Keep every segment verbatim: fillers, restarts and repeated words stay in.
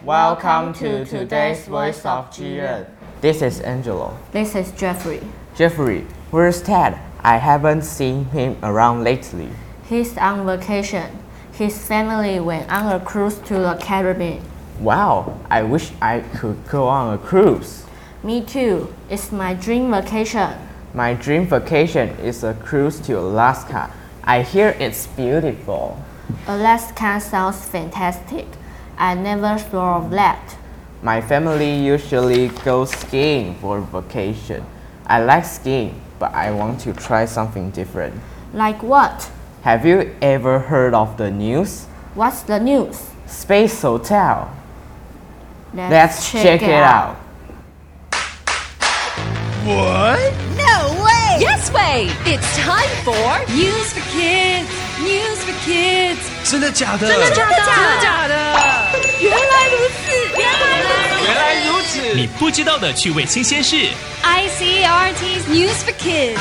Welcome to today's Voice of Jiren. This is Angelo. This is Jeffrey. Jeffrey, where's Ted? I haven't seen him around lately. He's on vacation. His family went on a cruise to the Caribbean. Wow, I wish I could go on a cruise. Me too. It's my dream vacation. My dream vacation is a cruise to Alaska. I hear it's beautiful. Alaska sounds fantastic. I never thought of that. My family usually goes skiing for vacation. I like skiing, but I want to try something different. Like what? Have you ever heard of the news? What's the news? Space Hotel. Let's, Let's check, check it out. What? No way! Yes way! It's time for News for Kids! News for Kids! 真的假的？ 真的假的？ 真的假的？ 原来如此！原来如此！ 原来如此！ 你不知道的趣味新鲜事 I C R T's News for Kids.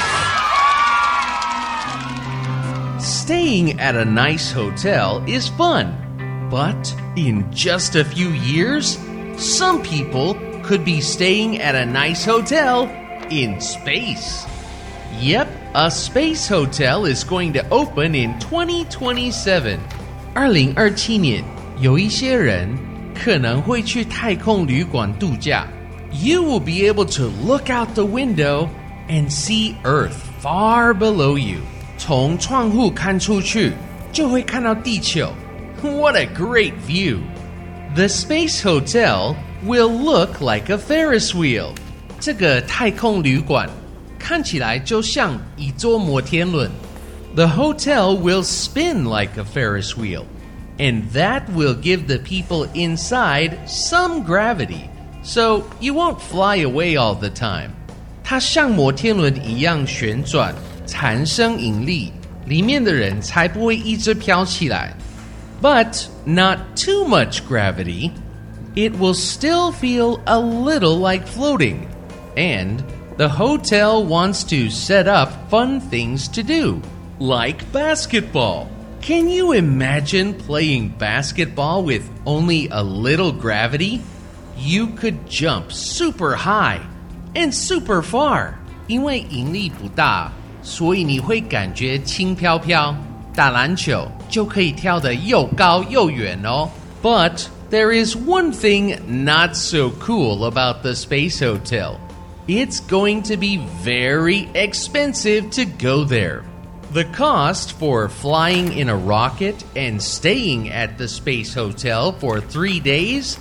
Staying at a nice hotel is fun, but in just a few years, some people could be staying at a nice hotel in space. Yep, a space hotel is going to open in twenty twenty-seven. 二零二七年，有一些人可能会去太空旅馆度假。You will be able to look out the window and see Earth far below you. 從窗戶看出去，就會看到地球。What a great view! The space hotel will look like a Ferris wheel. 這個太空旅館看起來就像一座摩天輪。The hotel will spin like a Ferris wheel, and that will give the people inside some gravity, so you won't fly away all the time. 它像摩天輪一樣旋轉，產生引力，裡面的人才不會一直飄起來。But not too much gravity. It will still feel a little like floating. And the hotel wants to set up fun things to do, like basketball. Can you imagine playing basketball with only a little gravity? You could jump super high and super far. 因為引力不大，所以你會感覺輕飄飄。打籃球就可以跳得又高又遠哦。But there is one thing not so cool about the space hotel. It's going to be very expensive to go there. The cost for flying in a rocket and staying at the space hotel for three days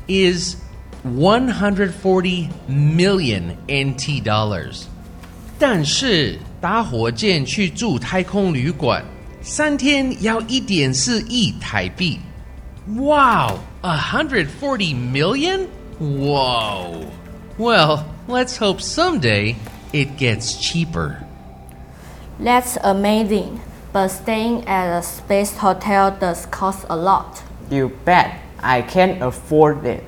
is one hundred forty million N T dollars. 但是搭火箭去住太空旅馆，三天要一點四億台幣。Wow, one hundred forty million? Whoa. Well, let's hope someday it gets cheaper. That's amazing. But staying at a space hotel does cost a lot. You bet. I can't afford it.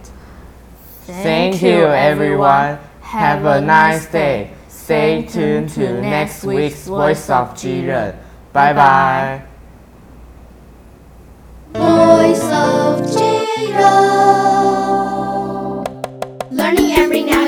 Thank, Thank you, everyone. Have a nice day. Stay tuned to next week's Voice of Jiren. Bye bye. Voice of Jiren. Learning every now